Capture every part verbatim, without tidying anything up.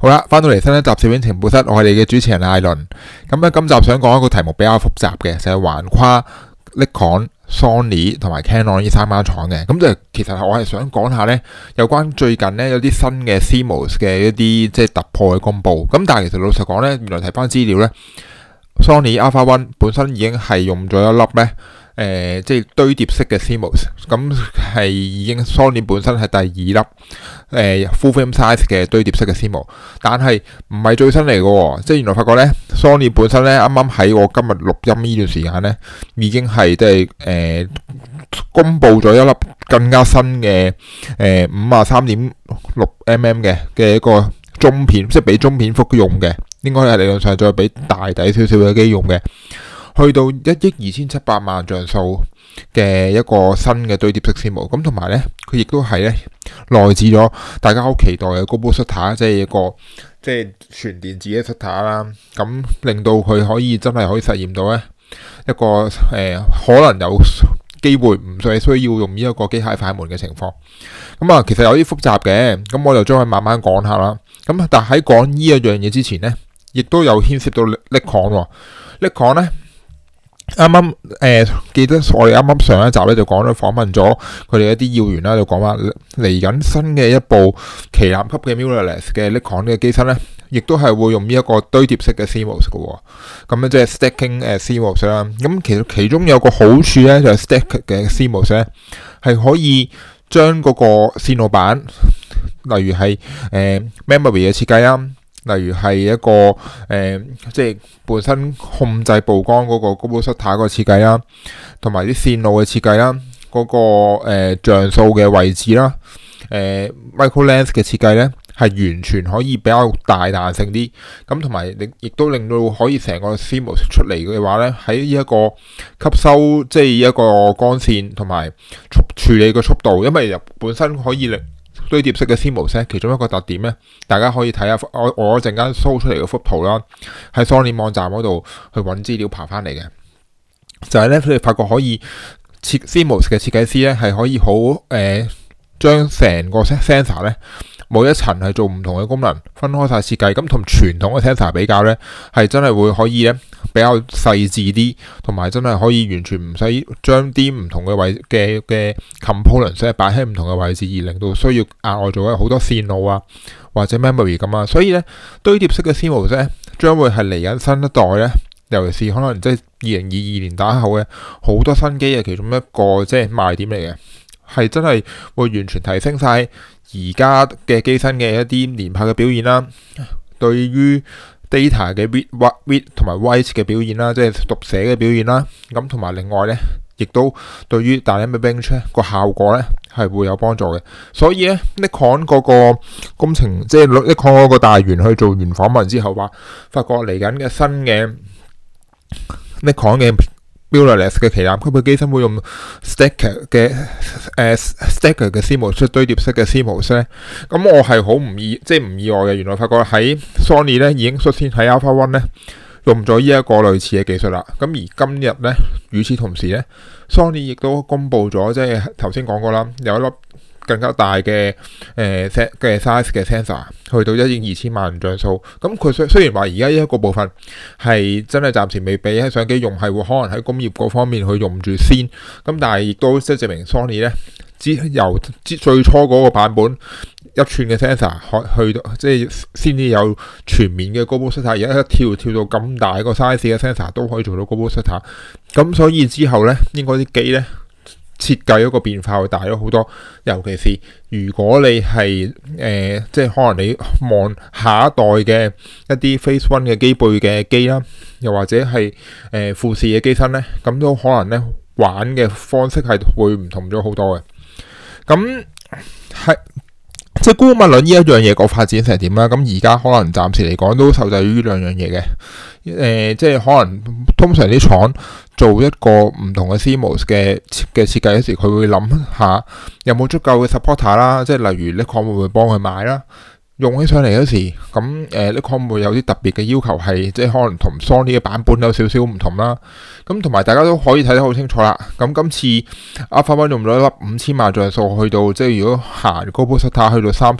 好啦，翻到嚟新一集攝影情報室，我係你嘅主持人艾倫。咁咧，今集想講一個題目比較複雜嘅，就係橫跨 Nikon、Sony 同埋 Canon 呢三間廠嘅。咁就其實我係想講下咧，有關最近咧有啲新嘅 C M O S 嘅一啲即係突破嘅公佈。咁但係其實老實講咧，原來睇翻資料咧 ，Sony Alpha One 本身已經係用咗一粒咧。誒、呃，即係堆疊式嘅 C M O S， 咁係已經 Sony 本身係第二粒誒、呃、full frame size 嘅堆疊式嘅 C M O S， 但係唔係最新嚟嘅喎，即係原來發覺咧 Sony 本身咧啱啱喺我今日錄音呢段時間咧，已經係即係誒公佈咗一粒更加新嘅誒五啊三點六 mm 嘅嘅一個中片，即係俾中片幅用嘅，應該係理論上再俾大底少少嘅機用嘅。去到一億二千七百萬像素嘅一個新嘅堆疊式 C M O S， 咁同埋咧，佢亦都係咧內置咗大家好期待嘅 Global Shutter， 即係一個即係全電子嘅 Shutter 啦。咁令到佢可以真係可以實現到咧一個誒、呃、可能有機會唔需需要用呢一個機械快門嘅情況。咁啊，其實有啲複雜嘅，咁我就將佢慢慢講下啦。咁但係喺講呢一樣嘢之前咧，亦都有牽涉到 Nikon 喎 Nikon 咧。啱啱誒記得我哋啱啱上一集咧就講咗訪問咗佢哋一啲要員啦，就講話嚟緊新嘅一部旗艦級嘅 mirrorless 嘅 Nikon 嘅機身咧，亦都係會用呢一個堆疊式嘅 C M O S 嘅喎。咁咧即係 stacking 誒 C M O S 啦。咁其實其中有個好處咧就係 stack 嘅 C M O S 咧係可以將嗰個線路板，例如係誒、呃、memory 嘅設計啦。例如係一個誒、呃，即係本身控制曝光嗰個 Global Shutter 嗰個設計啦，同埋啲線路嘅設計啦，嗰、那個誒、呃、像素嘅位置啦，誒、呃、micro lens 嘅設計咧，係完全可以比較大彈性啲。咁同埋亦亦都令到可以成個 C M O S 出嚟嘅話咧，喺呢一個吸收即係一個光線同埋處處理嘅速度，因為本身可以令堆疊式嘅 C M O S 其中一個特點咧，大家可以睇下我我陣間 show 出嚟嘅幅圖啦，喺 Sony 網站嗰度去揾資料爬翻嚟嘅，就係咧佢哋發覺可以設 C M O S 嘅設計師咧係可以好誒將成個 sensor 咧每一層係做唔同嘅功能，分開晒設計，咁同傳統嘅 sensor 比較咧係真係會可以咧比較細緻啲，同埋真係可以完全唔使將啲唔同嘅位嘅嘅 components 咧擺喺唔同嘅位置，而令到需要額外做好多線路啊或者 memory 咁啊，所以咧堆疊式嘅 C M O S 咧將會係嚟緊新一代咧，尤其是可能即係二零二二年打後嘅好多新機嘅其中一個即係賣點嚟嘅，係真係會完全提升晒而家嘅機身嘅一啲連拍嘅表現啦，對於 data 嘅 read read 同埋 write 嘅表現啦，即係讀寫嘅表現啦，咁同埋另外咧，亦都對於 dynamic range 個效果咧係會有幫助嘅。所以咧 Nikon 嗰個工程，即係 Nikon 嗰個大員去做完訪問之後話，發覺嚟緊嘅新嘅 Nikon 嘅mirrorless 嘅旗艦級嘅機身會用 stacker 嘅誒 stacker 嘅 C M O S 堆疊式嘅 C M O S 咧，咁我係好唔意即係唔意外嘅。原來發覺喺 Sony 咧已經率先喺 Alpha One 咧用咗呢一個類似嘅技術啦。咁而今日咧，與此同時咧 ，Sony 亦都公布咗，即係頭先講過啦，有一粒更加大嘅誒 set 嘅 size 嘅 sensor， 去到一億二千萬像素。咁佢雖雖然話而家呢一個部分係真係暫時未俾喺相機用，係會可能喺工業嗰方面去用住先。咁但係亦都即係證明 Sony 咧，之由之最初嗰個版本一寸嘅 sensor 去到即係先至有全面嘅 Global Shutter， 而家一跳跳到咁大個 size 嘅 sensor 都可以做到 Global Shutter。咁所以之後咧，應該啲機咧，設計嗰個變化會大咗好多，尤其是如果你係誒、呃，即係可能你望下一代嘅一啲 Phase One 嘅機背嘅機啦，又或者係誒、呃、富士嘅機身咧，咁都可能咧玩嘅方式係會唔同咗好多嘅。咁係即係姑勿論呢一樣嘢個發展成點啦。咁而家可能暫時嚟講都受制於兩樣嘢嘅。誒、呃，即係可能通常啲廠做一個唔同嘅 C M O S 嘅嘅設計嗰時，佢會諗下有冇足夠嘅 supporter 啦，即係例如 Nikon 會唔會幫佢買啦？用起上嚟嗰時，咁誒 Nikon會有啲特別嘅要求，係即係可能同 Sony 嘅版本有少少唔同啦。咁同埋大家都可以睇得好清楚啦。咁今次 Alpha One 用咗一粒五千萬像素，去到即係如果行 Global Shutter 去到三十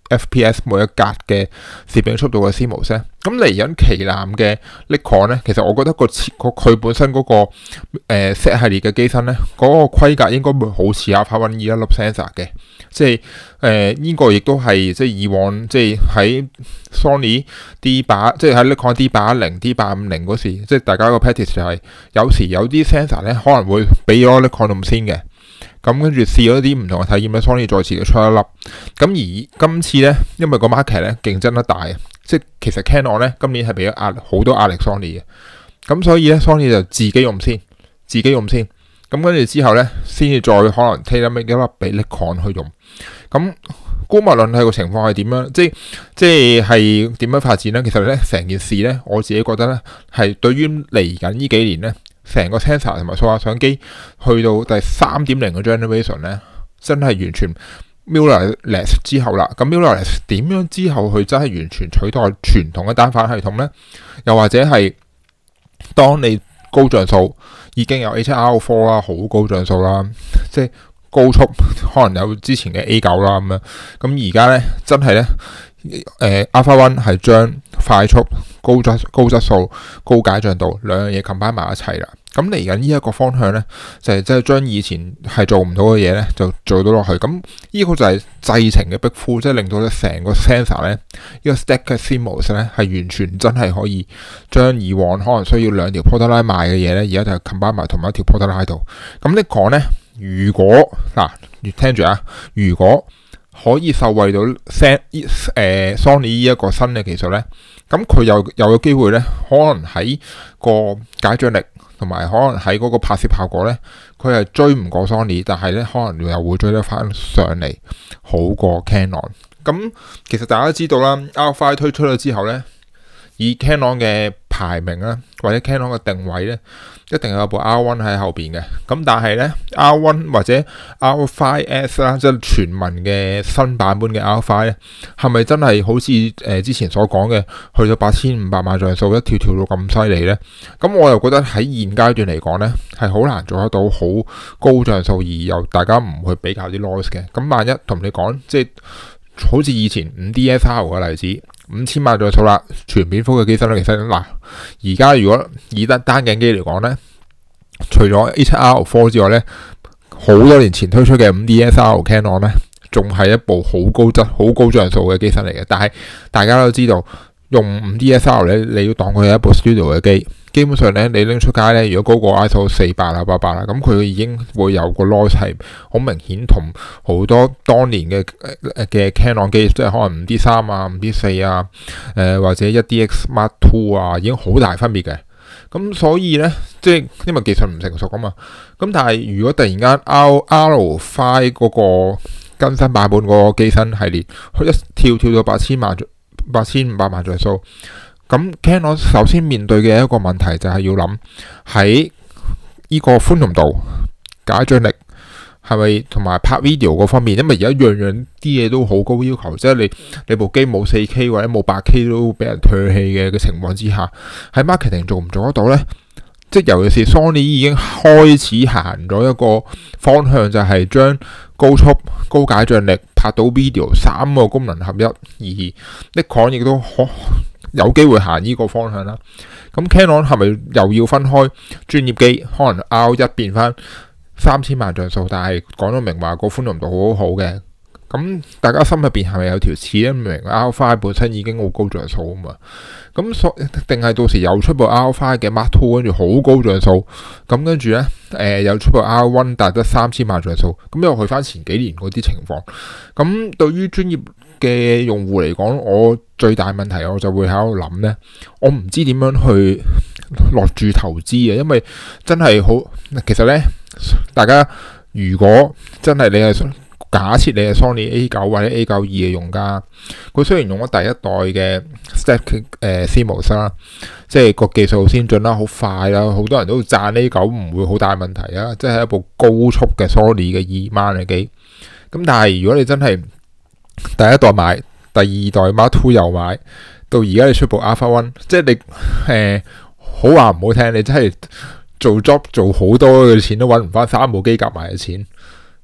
F P S 每一格嘅攝影速度嘅 C M O S 咧，咁嚟緊旗艦嘅 Nikon 咧，其實我覺得個設佢本身嗰、那個誒、呃、Z 系列嘅機身咧，嗰、那個規格應該會好似 Alpha One 呢一粒 sensor 嘅，即係誒呢個亦都係即係以往即係喺 Sony D 八，即係喺 Nikon D 八一零、D 八五零嗰時，即係大家個 practice 就係、是、有時有啲 sensor 咧可能會比咗 Nikon 咁先嘅。咁跟住試咗啲唔同嘅體驗咧 ，Sony 再次就出一粒。咁而今次咧，因為個 market 咧競爭得大，即係其實 Canon 咧今年係俾咗壓好多壓力 Sony 嘅。咁所以咧 Sony 就自己用先，自己用先。咁跟住之後咧，先至再可能 tailor make 一粒俾 Nikon 去用。咁姑勿論係個情況係點樣，即係即係係點樣發展咧？其實咧成件事咧，我自己覺得咧係對於嚟緊呢幾年咧。成個 sensor 同埋數碼相機去到第三點零嘅 generation 咧，真係完全 mirrorless 之後啦。咁 mirrorless 點樣之後佢真係完全取代傳統嘅單反系統咧？又或者係當你高像素已經有 A 七 R 四 啦，好高像素啦，即係高速可能有之前嘅 A 九 啦咁樣。咁而家咧真係咧，誒 Alpha One 係將快速、高質、高質素、高解像度兩樣嘢 combine 埋一齊啦。咁嚟緊呢一個方向咧，就係即係將以前係做唔到嘅嘢咧，就做到落去。咁呢個就係製程嘅逼呼，即係令到咧成個 sensor 咧，呢個 stack 嘅 C M O S 咧係完全真係可以將以往可能需要兩條 porta line 賣嘅嘢咧，而家就 combine 埋同一條 porta line 度。咁你講咧，如果嗱，越聽住啊，如果可以受惠到 set 誒、呃、Sony 呢一個新嘅技術咧，咁佢又有個機會咧，可能喺個解像力同埋可能喺嗰個拍攝效果咧，佢係追唔過 Sony， 但係咧可能又會追得翻上嚟，好過 Canon。咁其實大家都知道啦 ，R five 推出咗之後咧，以 Canon 嘅排名啦，或者 Canon 嘅定位咧，一定有部 R one 喺後邊嘅。咁但係咧 R one 或者 R five S 啦，即係全民嘅新版本嘅 R five 咧，係咪真係好似誒、呃、之前所講嘅，去到八千五百萬像素一跳跳到咁犀利咧？咁我又覺得喺現階段嚟講咧，係好難做得到好高像素而又大家唔去比較啲 noise 嘅。咁萬一同你講，即係好似以前五 D S R 嘅例子。五千萬像素啦，全片幅嘅機身咧，其實嗱，而家如果以得單鏡機嚟講咧，除咗 A 七 R 四 之外咧，好多年前推出嘅五 D S R Canon 咧，仲係一部好高質、好高像素嘅機身嚟嘅。但係大家都知道，用五 D S R 咧，你要當佢係一部 studio 嘅機。基本上咧，你拎出街咧，如果高過 I S O 四百啦、八百啦，咁佢已經會有個 noise 係好明顯，同好多當年嘅嘅 Canon 機，即係可能五 D 三啊、五 D 四啊，誒、呃、或者一 D X Mark Two 啊，已經好大分別嘅。咁所以咧，即係因為技術唔成熟啊嘛。咁但係如果突然間 R R five 嗰個更新版本嗰個機身系列，佢一跳跳到八千萬、八千五百萬像素。咁 Canon 首先面對嘅一個問題就係要諗喺呢個寬容度、解像力係咪同埋拍 video 嗰方面，因為而家樣樣啲嘢都好高要求，即係你你部機冇 四 K 或者冇八 K 都俾人唾棄嘅嘅情況之下，喺 marketing 做唔做得到呢？即係尤其是 Sony 已經開始行咗一個方向，就係將高速、高解像力拍到 video 三個功能合一，而 Nikon 亦都可有機會行呢個方向啦。咁 Canon 係咪又要分開專業機？可能 R 一變翻三千萬像素，但係講到明話個寬容度好好嘅。咁大家心入邊係咪有條刺咧？明 R five 本身已經好高像素啊嘛。咁所定係到時又出部 R five 嘅 Mark Two 跟住好高像素。咁跟住咧，誒、呃、又出部 R one 但係得三千萬像素。咁又去翻前幾年嗰啲情況。咁對於專業嘅用戶嚟講，我最大問題我就會喺度諗咧，我唔知點樣去落注投資嘅，因為真係好。其實咧，大家如果真係你係假設你係 Sony A 九或者 A 九二嘅用家，佢雖然用咗第一代嘅 Stack 誒 C M O S 啦，即係個技術先進啦，好快啦，好多人都讚 A 九唔會好大問題啊，即係一部高速嘅 Sony 嘅二萬嘅機。咁但係如果你真係第一代買，第二代 Mark Two 又買，到而家你出部 Alpha One， 即係你誒、呃、好話唔好聽，你真係做 job 做好多嘅錢都揾唔翻三部機夾埋嘅錢。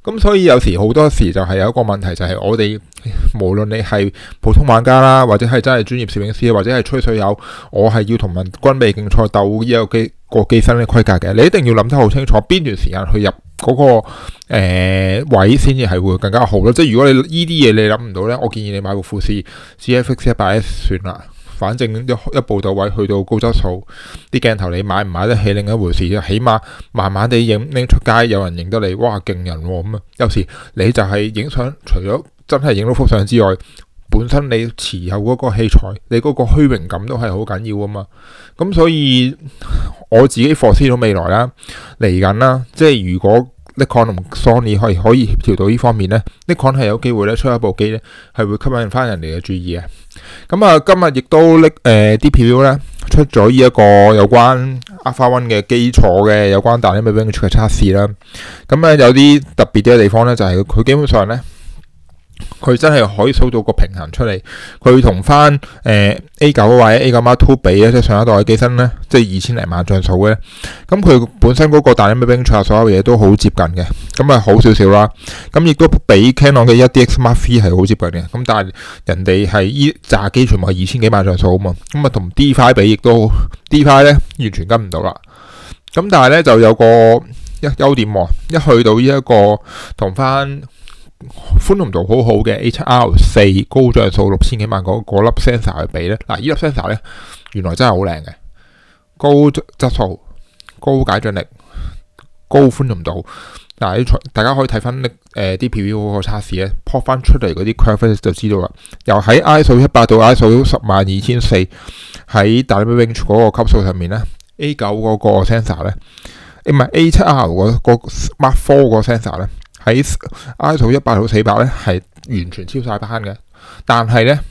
咁所以有時好多時就係有一個問題，就係我哋無論你係普通玩家啦，或者係真係專業攝影師，或者係吹水友，我係要同人軍備競賽鬥呢個機個機身嘅規格嘅，你一定要諗得好清楚邊段時間去入嗰、那個、呃、位先至係會更加好咯。即係如果你呢啲嘢你諗唔到呢，我建議你買部富士 G F X 一百 S 算啦。反正一一步到位，去到高質素，啲鏡頭你買唔買得起另一回事，起碼慢慢地影拎出街，有人認得你，哇勁人喎咁啊！有時你就係影相，除咗真係影到幅相之外，本身你持有嗰個器材，你嗰個虛榮感都係好緊要啊嘛。咁所以我自己 foresee 到未來啦，嚟緊啦，即係如果Nikon 同 Sony 可以可以協調到呢方面呢，Nikon 係有機會咧出一部機咧，係會吸引翻人哋嘅注意嘅。咁啊，今日亦都拎誒 D P U 咧出咗呢一個有關 Alpha One 嘅基礎嘅有關 Dynamic Range 嘅測試啦。咁咧有啲特別啲嘅地方咧，就係、是、佢基本上咧。佢真係可以數到個平衡出嚟，佢同翻誒 A 九或者 A 九 Mark Two 比咧，即係上一代嘅機身咧，即係二千零萬像素嘅。咁佢本身嗰個大音兵所有嘢都好接近嘅，咁啊好少少啦。咁亦都比 Canon 嘅 D X Mark Three 係好接近嘅。咁但係人哋係依炸機全部係二千幾萬像素啊嘛。咁啊同 D Five 比亦都 D Five 咧完全跟唔到啦。咁但係咧就有個一優點喎，一去到呢一個同翻。寬容度好好嘅 H R 四高像素六千幾萬嗰嗰粒 sensor 去比咧，嗱呢粒 sensor 咧原來真係好靚嘅，高質素、高解像力、高寬容度。嗱，大家可以睇翻誒 D P U 嗰個測試咧 ，pop 翻出嚟嗰啲 curve 就知道啦。由喺 I S O 一百到 I S O 十萬二千四喺 Dynamic Range 嗰個級數上面咧 ，A 九嗰個 sensor 咧，唔係 A 七 R 嗰個 Mark Four 個 sensor 咧。喺 I S O 一百到四百咧係完全超晒班嘅，但係咧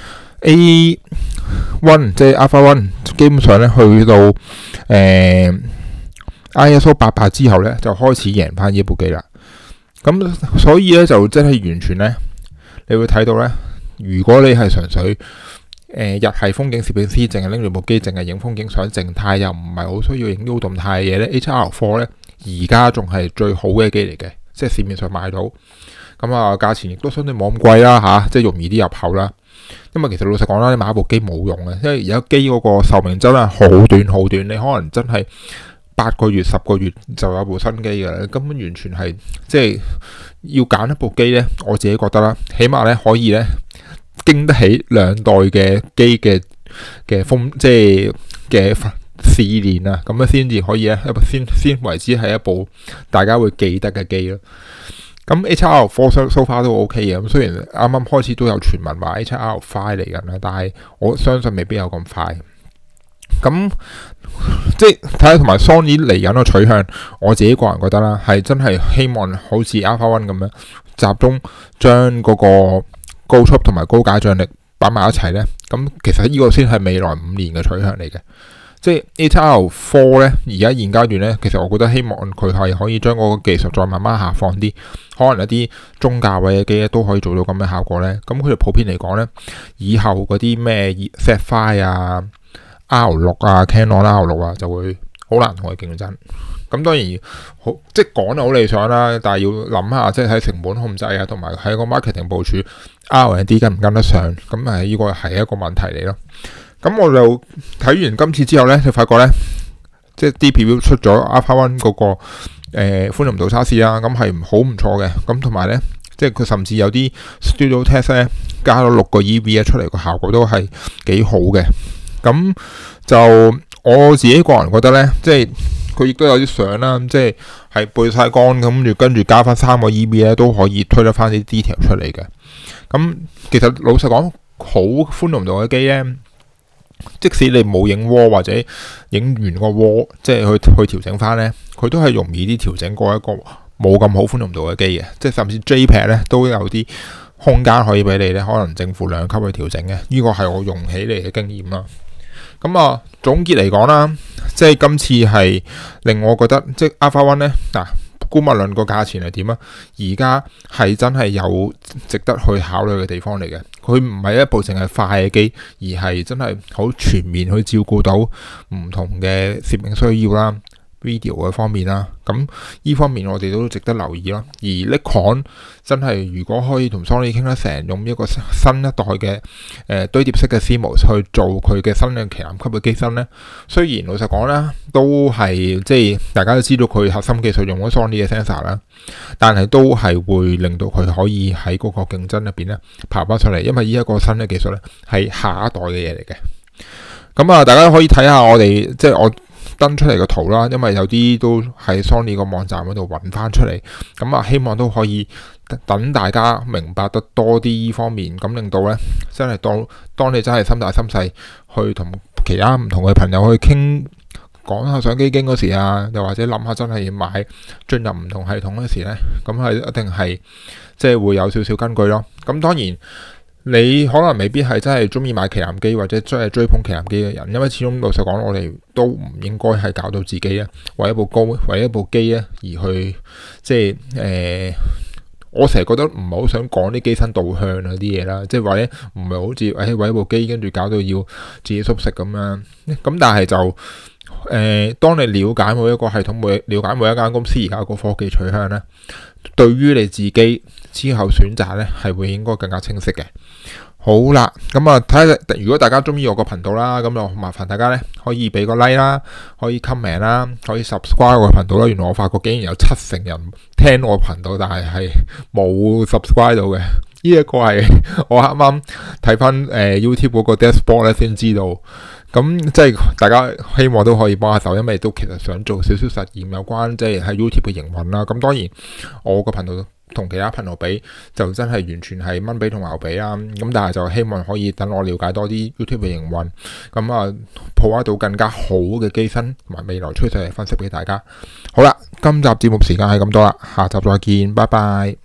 A 一即係 Alpha One 基本上咧去到誒、呃、I S O 八百之後咧就開始贏翻呢部機啦。咁所以咧就真係完全咧，你會睇到咧，如果你係純粹誒、呃、日系風景攝影師，淨係拎住部機，淨係影風景相靜態，又唔係好需要影到動態嘅嘢咧 ，H R 四咧而家仲係最好嘅機嚟嘅。即係市面上買到，咁啊價錢亦都相對冇咁貴啦嚇、啊，即係容易啲入口啦。因為其實老實講啦，你買一部機冇用嘅，因為而家機嗰個壽命真係好短好短，你可能真係八個月十個月就有部新機嘅，根本完全係即係要揀一部機咧。我自己覺得啦，起碼咧可以咧經得起兩代嘅機嘅嘅風，即係嘅。試練啊，咁樣先至可以咧，先先為之係一部大家會記得嘅機咯。咁 H R four so far 都 OK 嘅，咁雖然啱啱開始都有傳聞話 H R five 嚟緊啦，但係我相信未必有咁快。咁即係睇下同埋 Sony 嚟緊個取向，我自己個人覺得啦，係真係希望好似 Alpha One 咁樣集中將嗰個高速同埋高解像力擺埋一齊咧。咁其實呢個先係未來五年嘅取向嚟嘅。即係 H R four 咧，而家現階段咧，其實我覺得希望佢係可以將嗰個技術再慢慢下放啲，可能一啲中價位嘅機咧都可以做到咁嘅效果咧。咁佢哋普遍嚟講咧，以後嗰啲咩 Z five 啊、R 六啊、Canon R 六啊就會好難同佢競爭。咁當然好，即係講得好理想啦，但係要諗下，即係喺成本控制啊，同埋喺個 marketing 部署 R and D 跟唔跟得上，咁誒呢個係一個問題嚟咯。咁我就睇完今次之後咧，就發覺咧，即係 D P U 出咗 Alpha One 嗰個誒寬容度測試啦，咁係好唔錯嘅。咁同埋咧，即係佢甚至有啲 Studio Test 咧加咗六個 E V 出嚟，個效果都係幾好嘅。咁就我自己個人覺得咧，即係佢亦都有啲相啦，即係係背晒光咁，跟住加翻三個 E V 咧，都可以推得翻啲 detail 出嚟嘅。咁其實老實講，好寬容度嘅機咧。即使你冇影窩或者影完個窩，即係去去調整翻咧，佢都係容易啲調整過一個冇咁好寬容度嘅機嘅。即係甚至 JPEG 咧都有啲空間可以俾你咧，可能正負兩級去調整嘅。呢個係我用起嚟嘅經驗啦。咁啊，總結嚟講啦，即係今次係令我覺得，即係 Alpha One 咧嗱。姑勿論個價錢係點啊？而家係真係有值得去考慮嘅地方嚟嘅。佢唔係一部淨係快嘅機，而係真係好全面去照顧到唔同嘅攝影需要啦。 video 嘅方面啦。咁呢方面我哋都值得留意咯。而 Nikon 真係如果可以同 Sony 傾得成，用一個新一代嘅誒、呃、堆疊式嘅 C M O S 去做佢嘅新嘅旗艦級嘅機身咧，雖然老實講啦，都係即係大家都知道佢核心技術用咗 Sony 嘅 sensor 啦，但係都係會令到佢可以喺嗰個競爭入邊咧爬翻出嚟，因為呢一個新嘅技術咧係下一代嘅嘢嚟嘅。咁啊，大家可以睇下我哋即係我登出嚟嘅圖啦，因為有啲都喺 Sony 個網站嗰度揾翻出嚟。咁啊，希望都可以等大家明白得多啲呢方面，咁令到咧真係當當你真係心大心細去同其他唔同嘅朋友去傾講下相機經嗰時啊，又或者諗下真係要買進入唔同系統嗰時咧，咁係一定係即係會有少少根據咯。咁當然。你可能未必係真係中意買旗艦機或者真係追捧旗艦機嘅人，因為始終老實講，我哋都唔應該係搞到自己啊，為一部高為一部機啊而去即係誒、呃，我成日覺得唔係好想講啲機身導向嗰啲嘢啦，即係或者唔係好似誒為一部機跟住搞到要自己縮食咁樣，咁但係就誒、呃，當你了解每一個系統，每了解每一間公司而家個科技取向咧，對於你自己之後選擇咧係會應該更加清晰嘅。好啦，咁啊睇下，如果大家中意我個頻道啦，咁就麻煩大家咧可以俾個 like 啦，可以 comment 啦，可以 subscribe 我個頻道啦。原來我發覺竟然有七成人聽我頻道，但係係冇 subscribe 到嘅。呢一個係我啱啱睇翻誒 YouTube 嗰個 dashboard 咧先知道。咁即係大家希望都可以幫下手，因為都其實想做少少實驗有關即係喺 YouTube 嘅營運啦。咁當然我個頻道同其他頻道比就真係完全係蚊比同牛比啦。咁但係就希望可以等我了解多啲 YouTube 嘅營運，咁啊抱得到更加好嘅機身同埋未來趨勢嚟分析俾大家。好啦，今集節目時間係咁多啦，下集再見，拜拜。